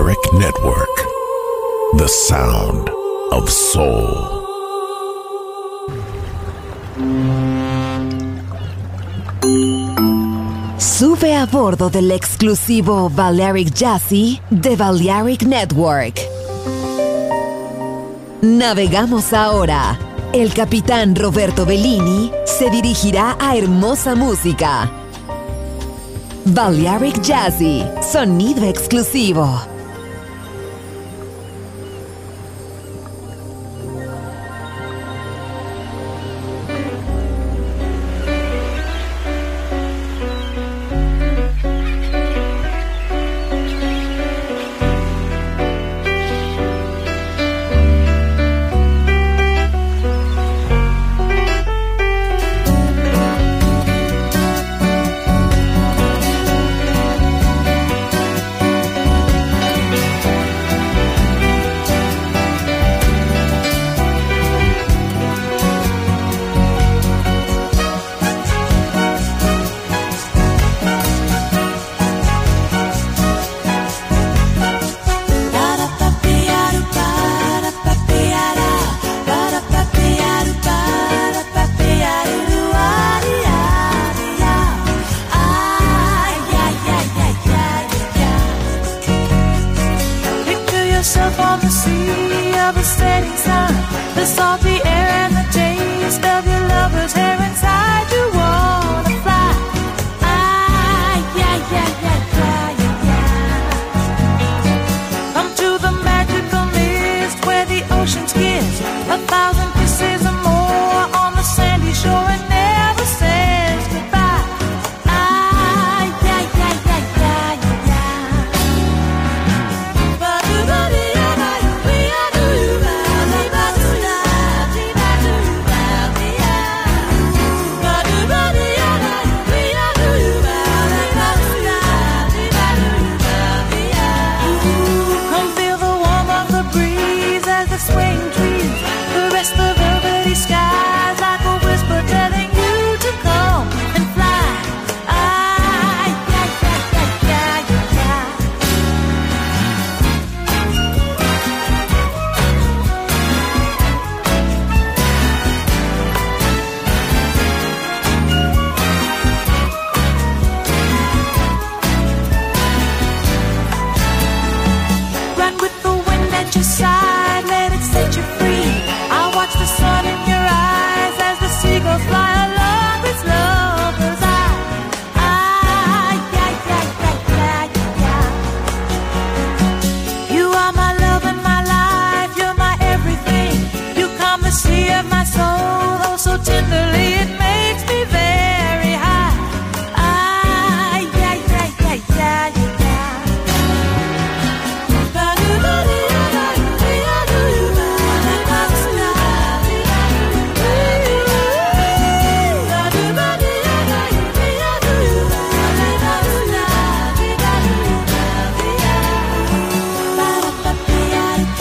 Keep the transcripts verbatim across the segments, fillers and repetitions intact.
Balearic Network, the sound of soul. Sube a bordo del exclusivo Balearic Jazzy de Balearic Network. Navegamos ahora. El capitán Roberto Bellini se dirigirá a hermosa música. Balearic Jazzy, sonido exclusivo.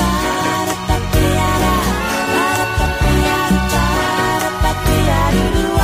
Do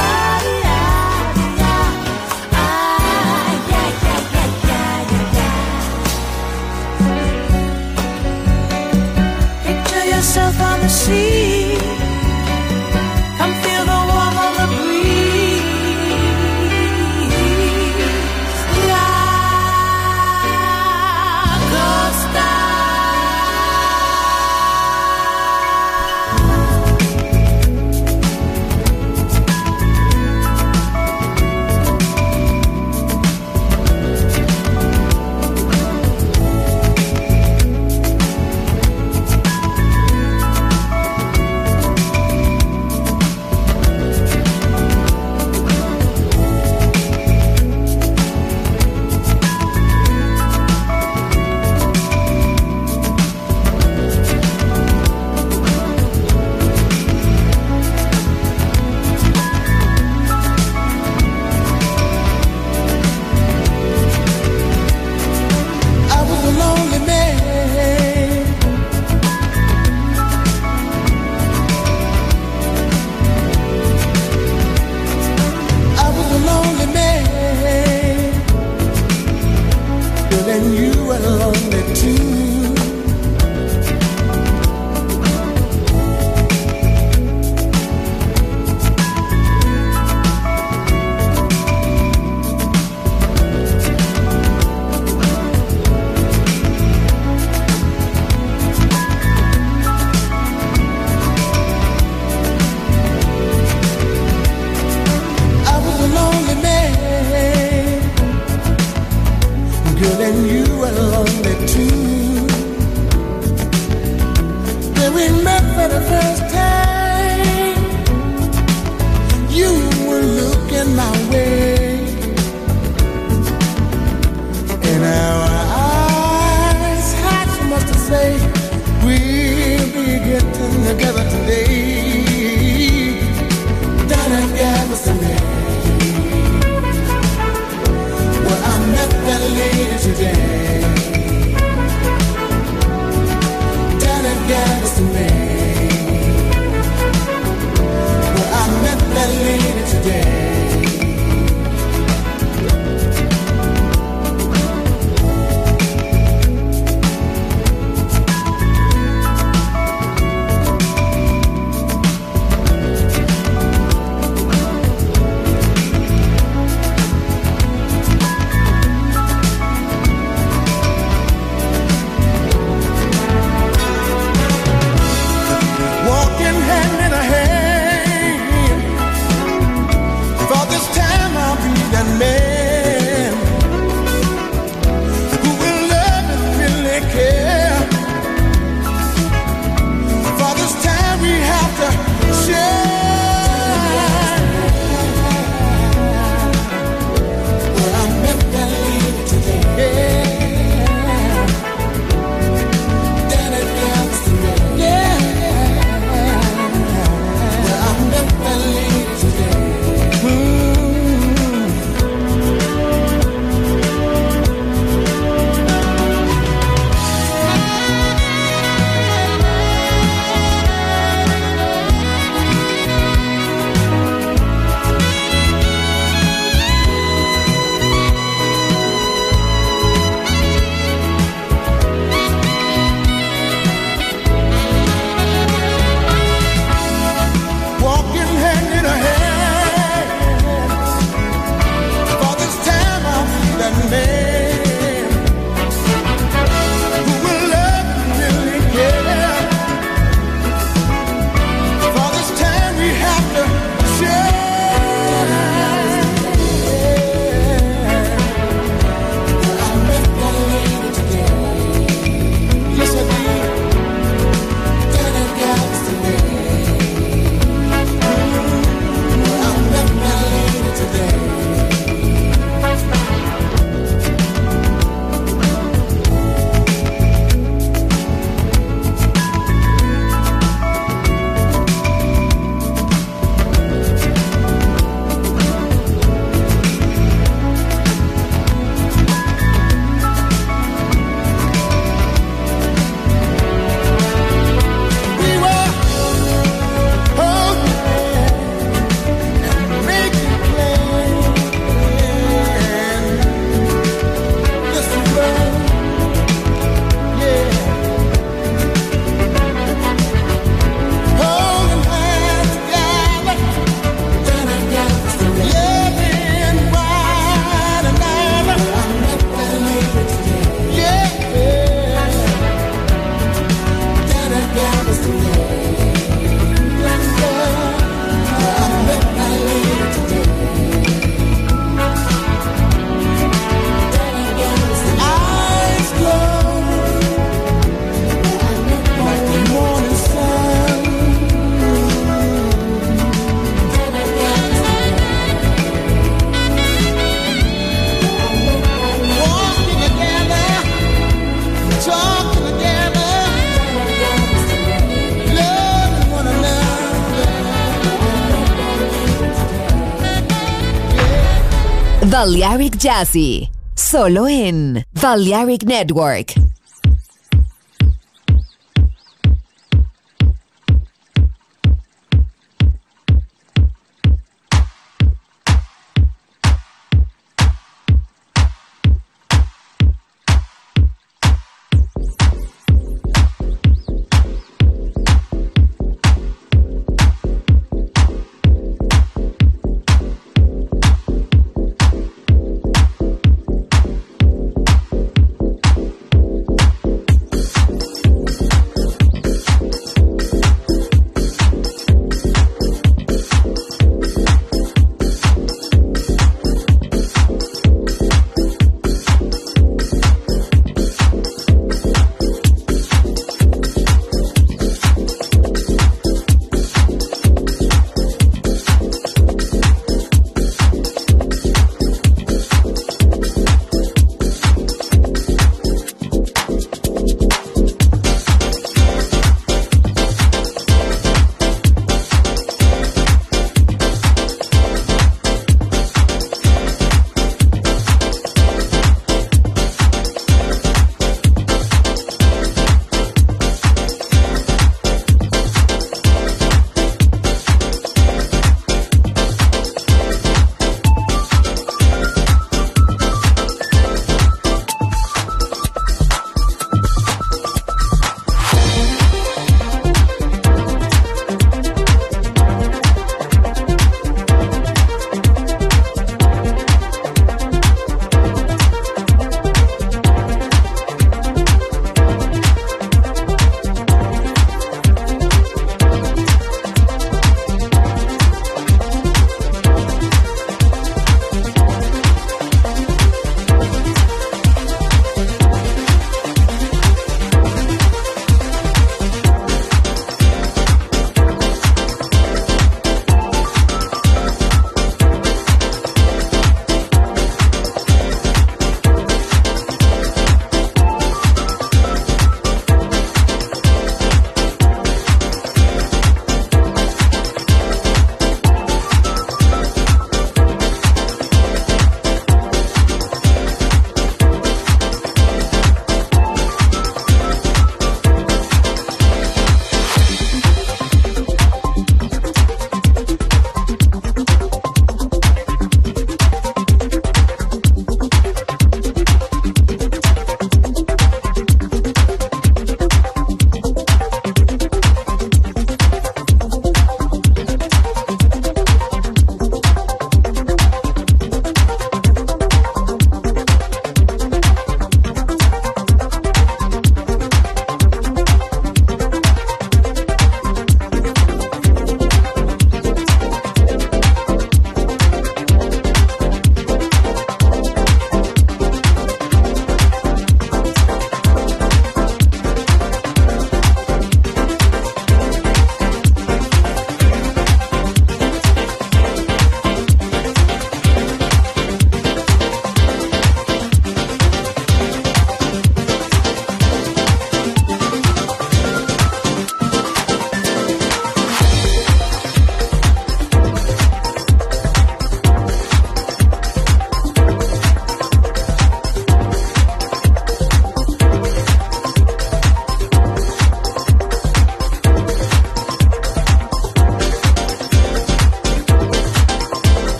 Balearic Jazzy, solo en Balearic Network.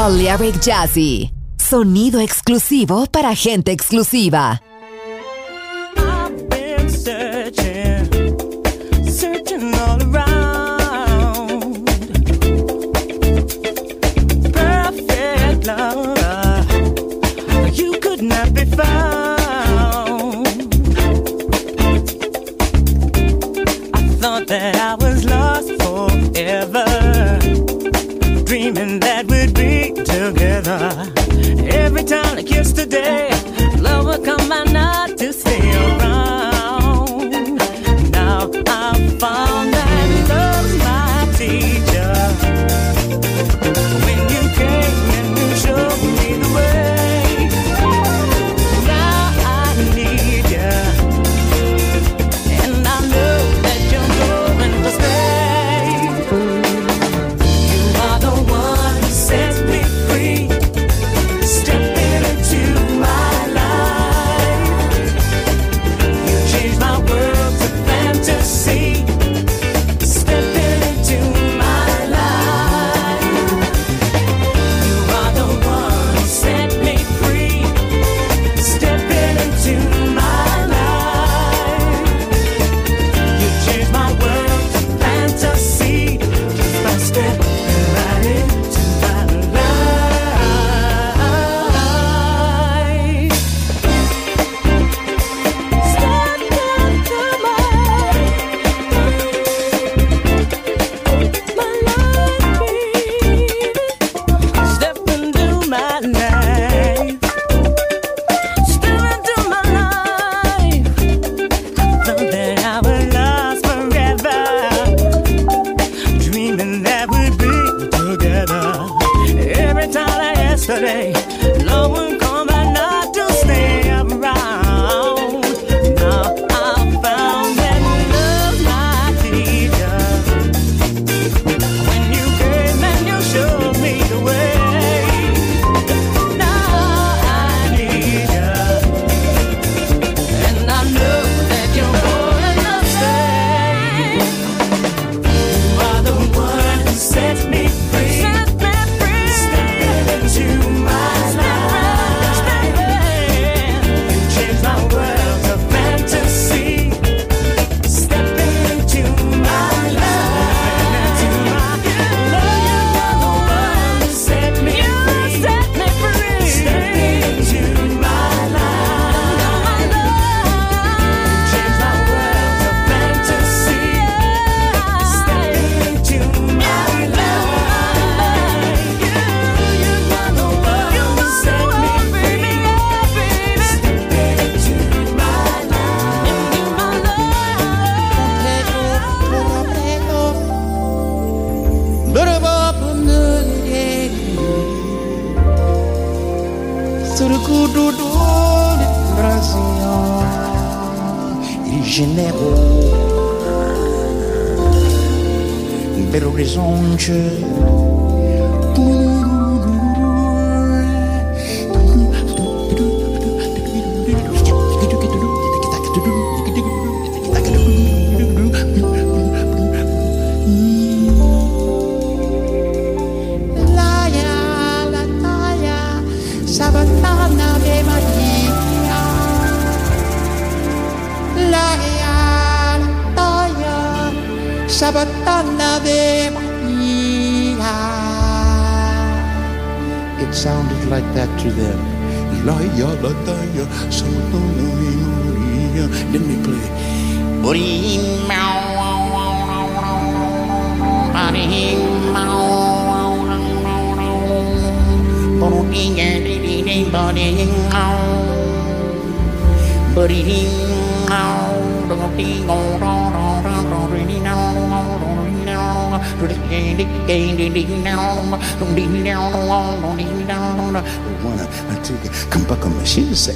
Balearic Jazzy. Sonido exclusivo para gente exclusiva. I've been searching, searching all around. Perfect love, you could not be found. I thought that I was lost forever, dreaming that we'd be together. Every time like yesterday, love will come by not to stay around. Now I've found that love's my teacher. When you came and you showed me the way, now I need you, and I know that you're going to stay. You are the one who sets me free. Stepping into my life, you changed my world to fantasy. Stepping into my life, you are the one who set me free. Stepping into my life, you changed my world to fantasy. Just by stepping right into my life. Step into my my life, step into my life, step into my life. Thought that I was lost forever, dreaming that we'd be together. Every time like yesterday, love would come by not to stay around. Now I found that love's my teacher. When you came and you showed me the way, now I need you, and I know that you're going to stay. You are the one who sets me free. Set me free. Stepping into my life. You changed my world to fantasy. Stepping into my life. You are the one who set me free. Stepping into my life. You changed my world to fantasy. Stepping into my life. You, you are the one who set me free. Stepping into my life. Into my Il Janeiro, Belo Horizonte. Laia, la taia, Sabatana de Maria. Laia, la taia, Sabatana de Maria. It sounded like that to them. Laia, la taia, Sabatana de Maria. Let me play. Wanna take it, come back on my shit, say.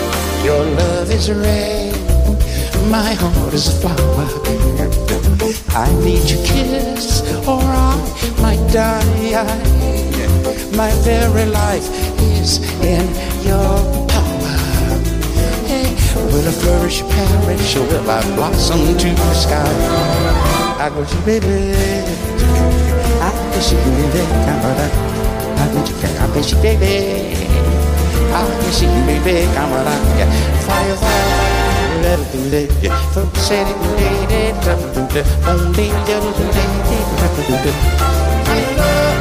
Your love is red, my heart is a flower. I need your kiss or I might die. My very life is in your power. Hey, will I flourish, perish, or will I blossom to the sky? I go to baby, I miss you, baby, camera. I miss you, I miss you, baby. I miss you, baby, camera. Fire, fire, let it do it. Folks say it, lady, only little lady, I love.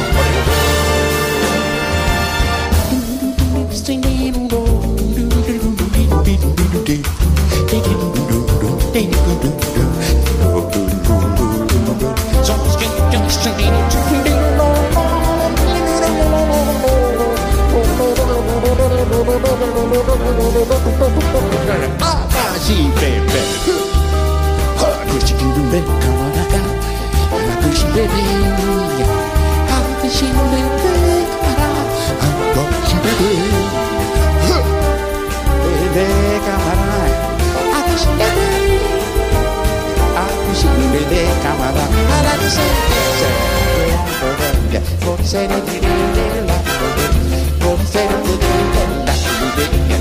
Sì, baby. I wish you could be come on, I got. I wish you baby. I wish you baby. I wish you baby. Baby, come on. I wish you baby. I wish you baby. Come on. I like to say, say, for the sake of the day, for the sake of the day, that's the day.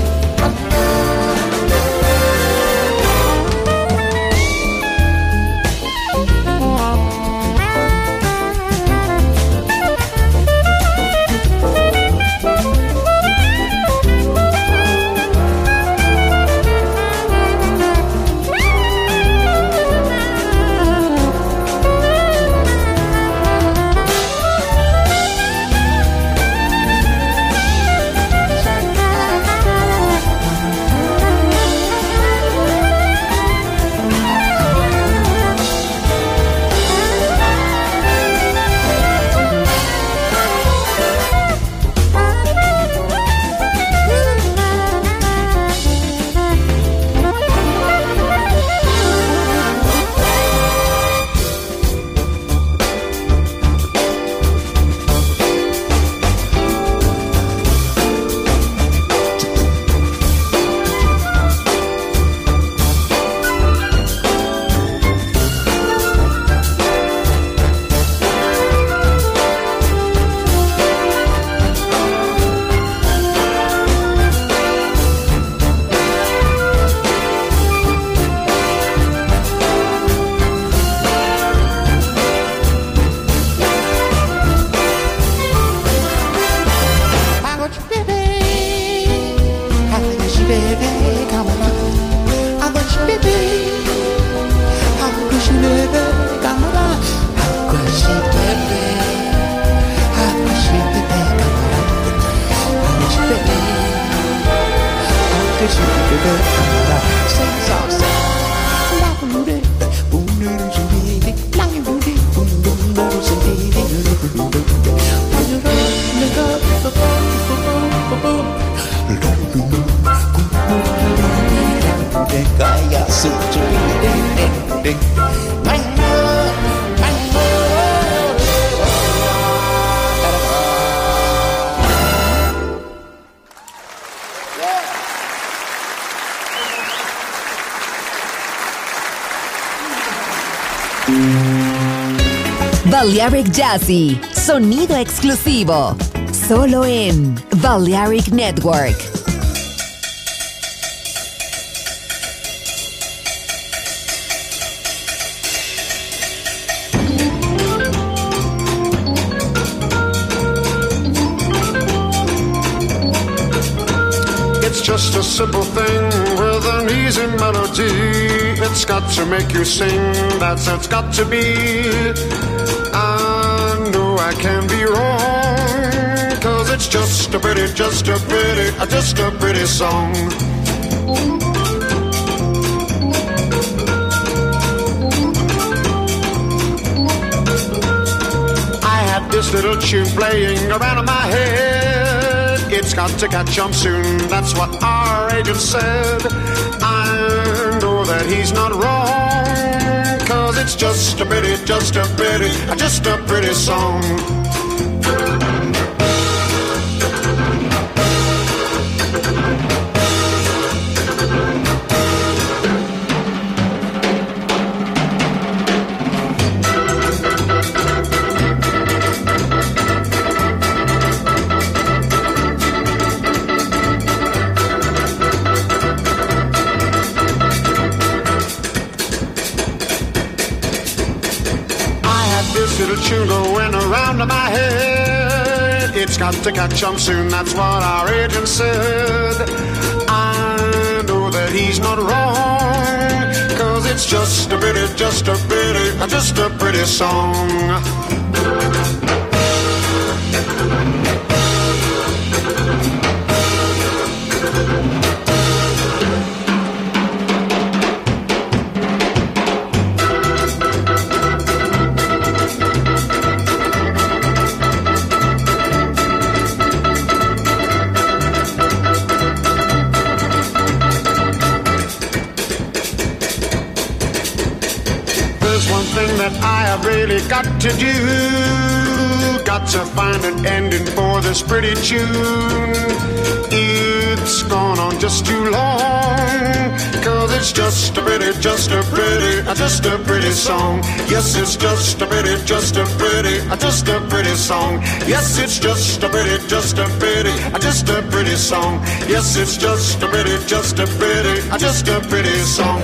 Balearic Jazzy, sonido exclusivo, solo en Balearic Network. It's just a simple thing with an easy melody. It's got to make you sing, that's how it's got to be. I know I can be wrong, 'cause it's just a pretty, just a pretty, just a pretty song. I had this little tune playing around in my head. It's got to catch on soon, that's what our agent said. I know that he's not wrong, 'cause it's just a pretty, just a pretty, just a pretty song. tune going around in my head. It's got to catch on soon, that's what our agent said. I know that he's not wrong, cause it's just a pretty, just a pretty, just a pretty song. That I have really got to do, got to find an ending for this pretty tune. It's gone on just too long, cause it's just a pretty, just a pretty, just a pretty song. Yes, it's just a pretty, just a pretty, just a pretty song. Yes, it's just a pretty, just a pretty, just a pretty song. Yes, it's just a pretty, just a pretty, just a pretty song.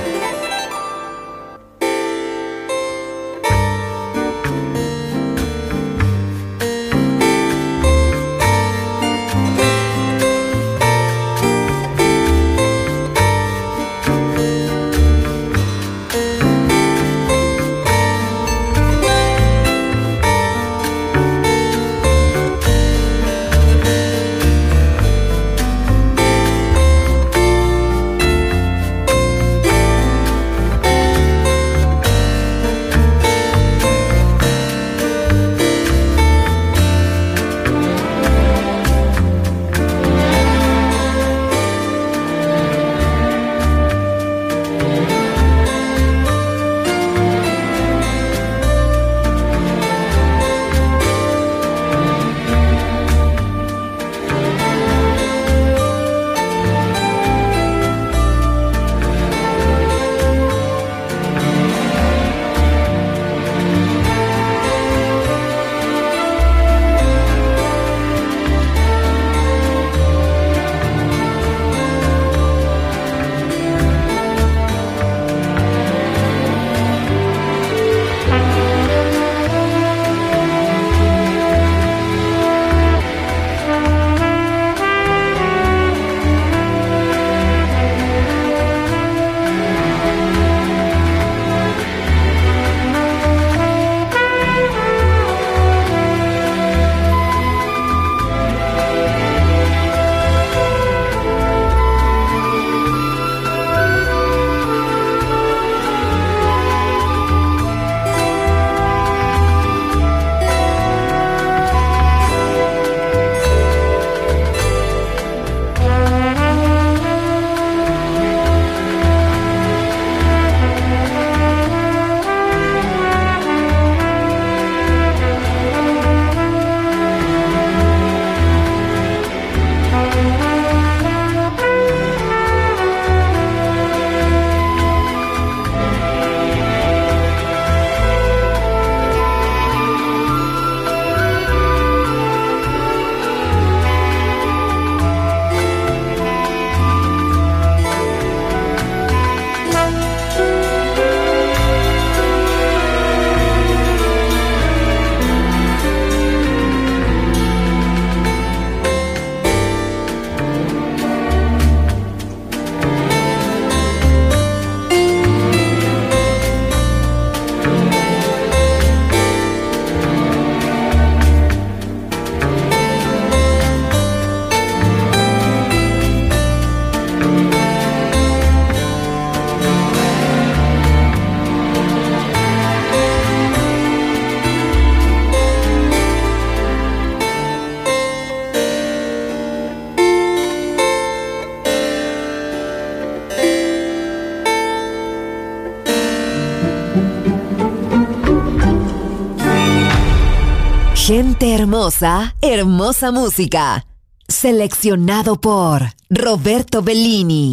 Gente hermosa, hermosa música. Seleccionado por Roberto Bellini.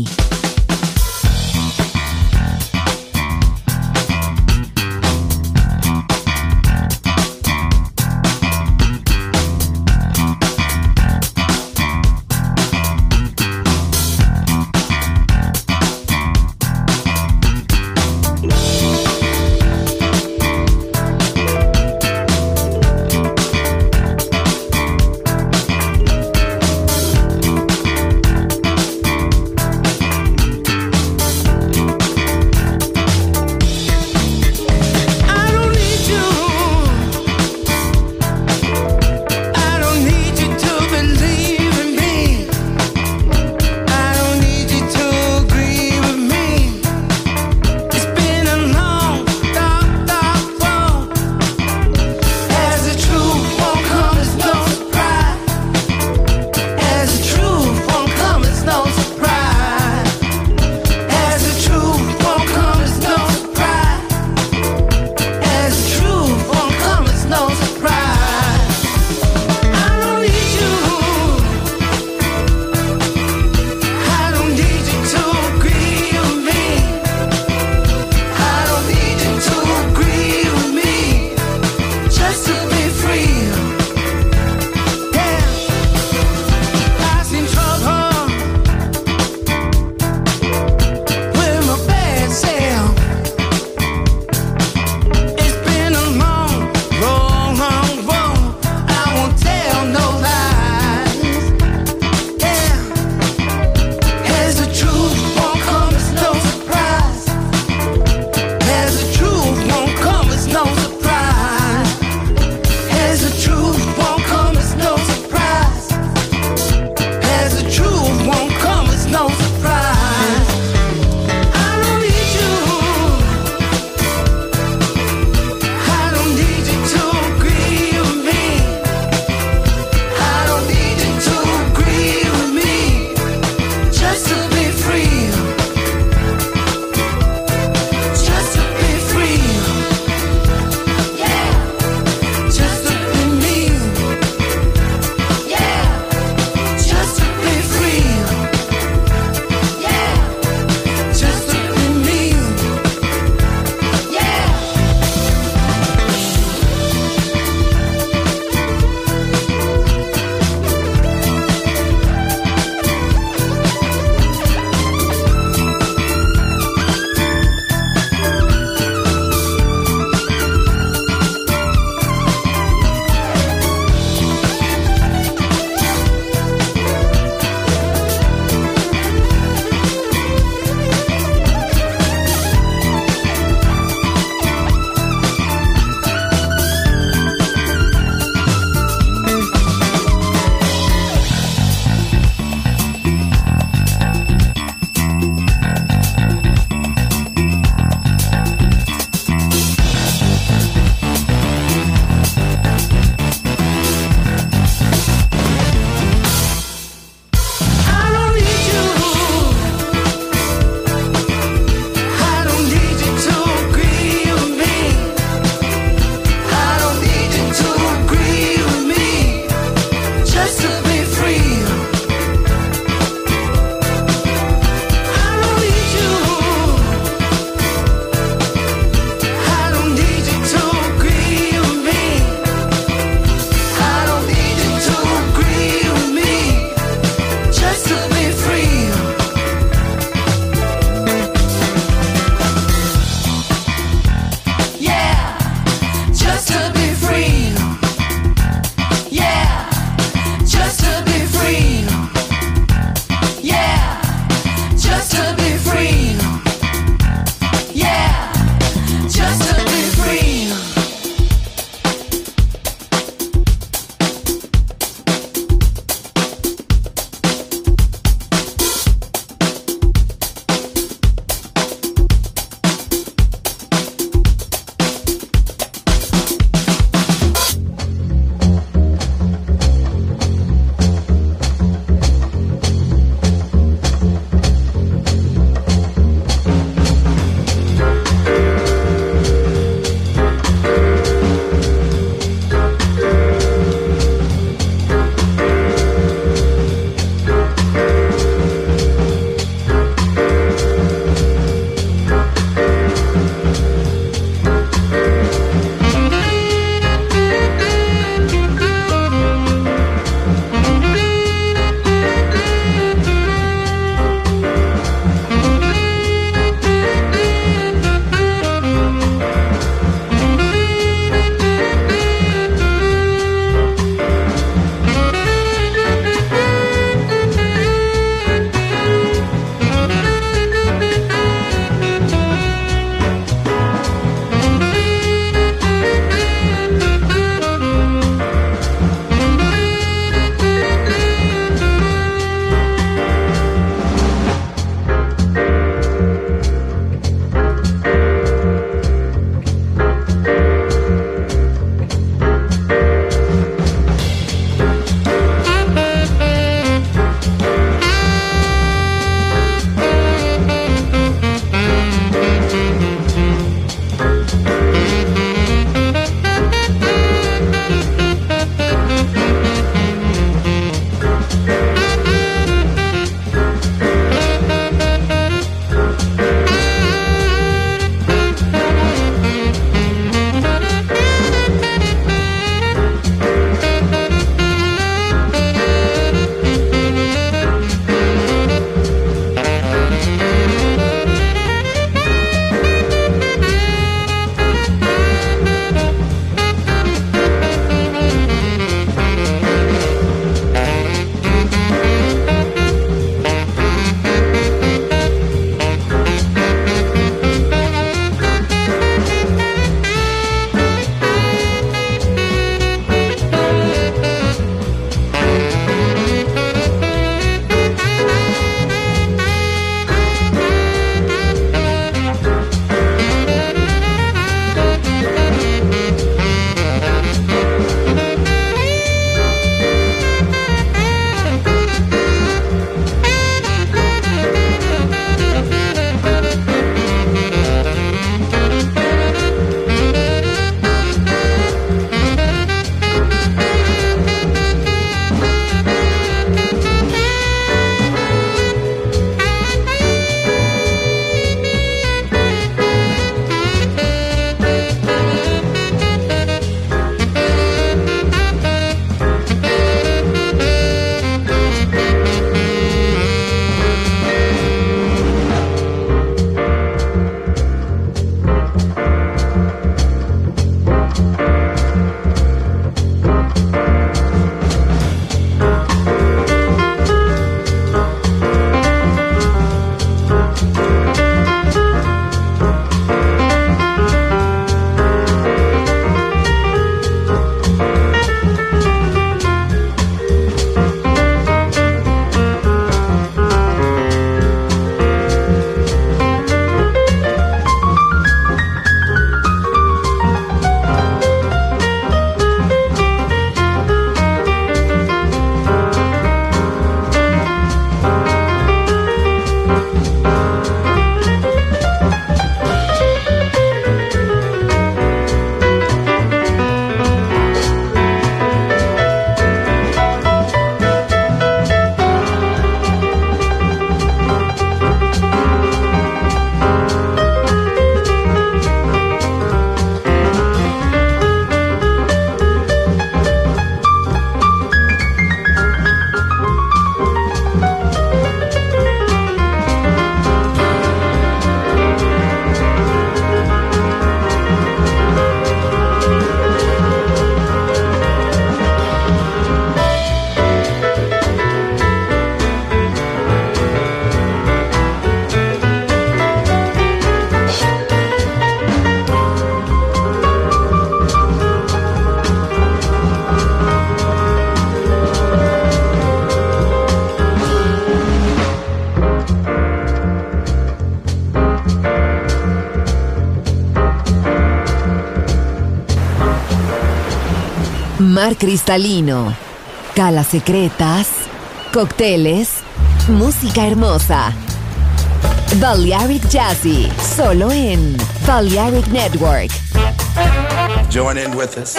mar cristalino, calas secretas, cócteles, música hermosa. Balearic Jazzy, solo en Balearic Network. Join in with us.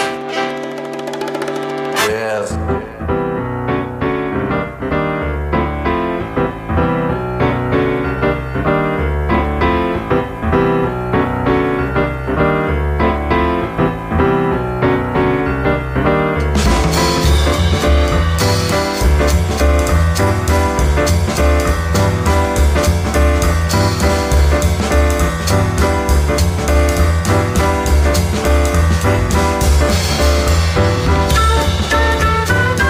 Yes. Thank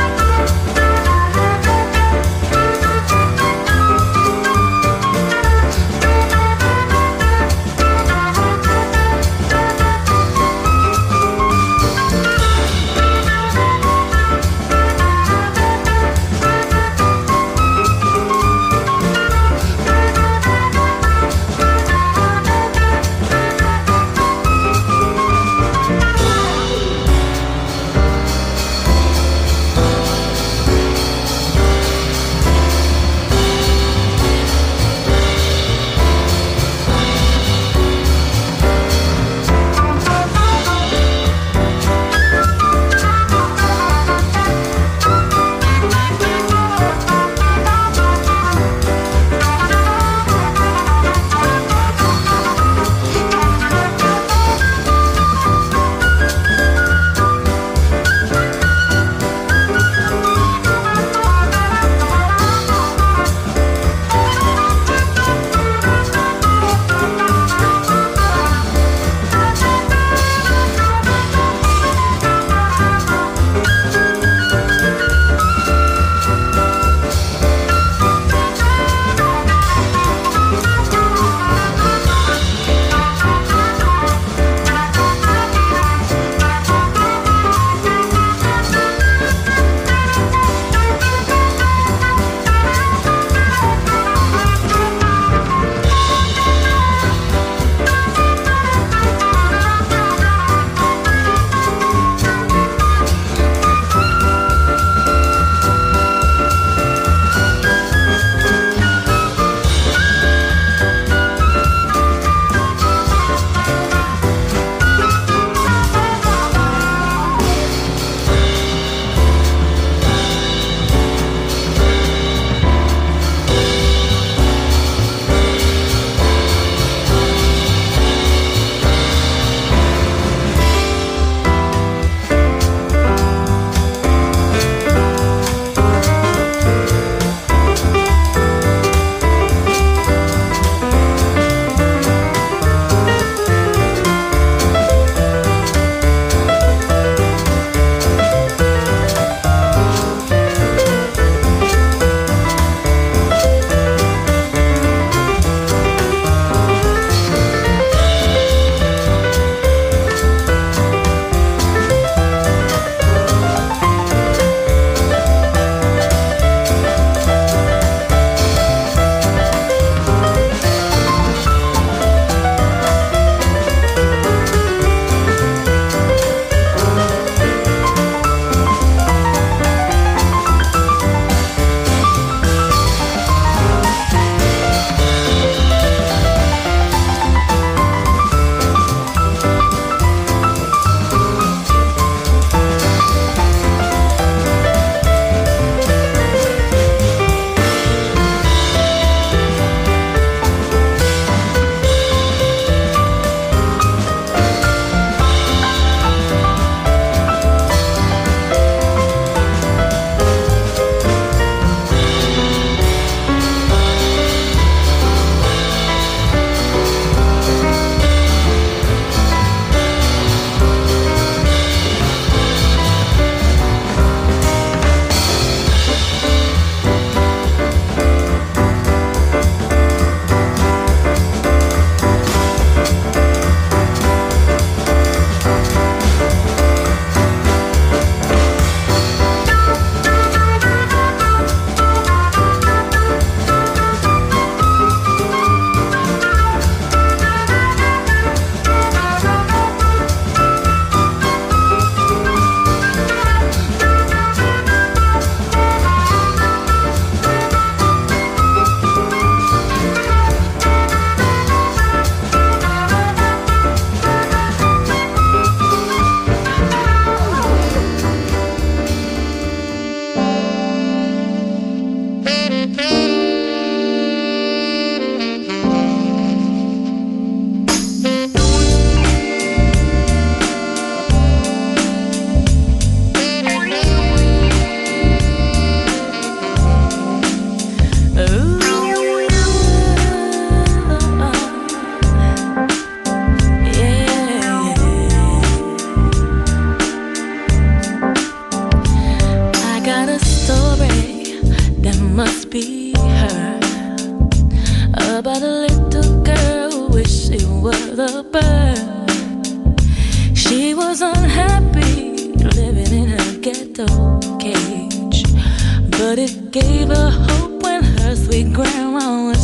about a little girl who wished she was a bird. She was unhappy living in her ghetto cage, but it gave her hope when her sweet grandma went